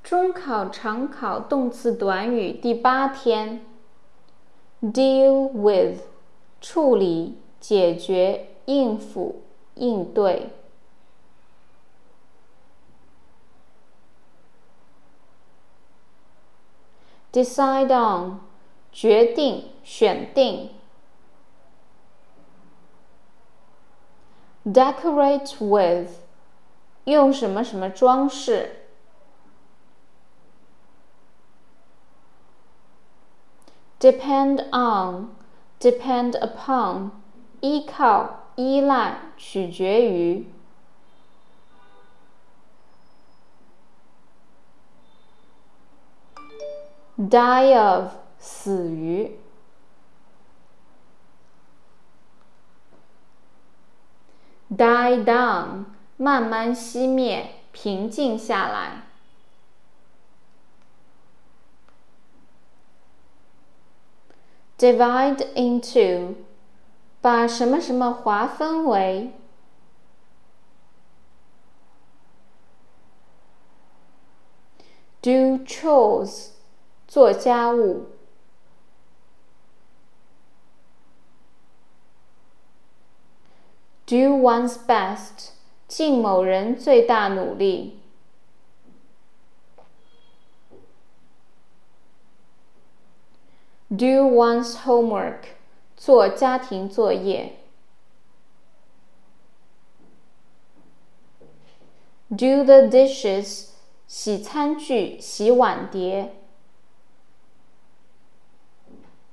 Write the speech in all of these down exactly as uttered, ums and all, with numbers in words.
中考常考动词短语第八天 ，deal with， 处理、解决、应付、应对。decide on， 决定、选定。decorate with， 用什么什么装饰。depend on， depend upon， 依靠、依赖、取决于。die of， 死于。die down， 慢慢熄灭，平静下来。divide into， 把什么什么划分为。do chores， 做家务。do one's best， 尽某人最大努力。do one's homework， 做家庭作业。do the dishes， 洗餐具、洗碗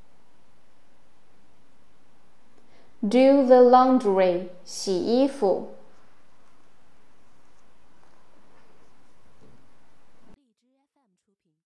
碟。do the laundry， 洗衣服。